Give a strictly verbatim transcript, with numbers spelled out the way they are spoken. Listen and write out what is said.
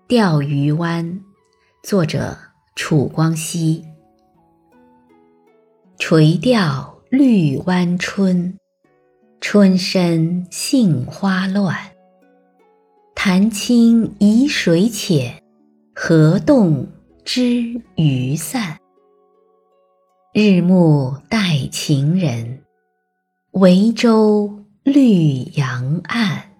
钓鱼湾，作者楚光熙。垂钓绿湾春，春深杏花乱。潭清疑水浅，河动知鱼散。日暮待情人，唯舟绿杨岸。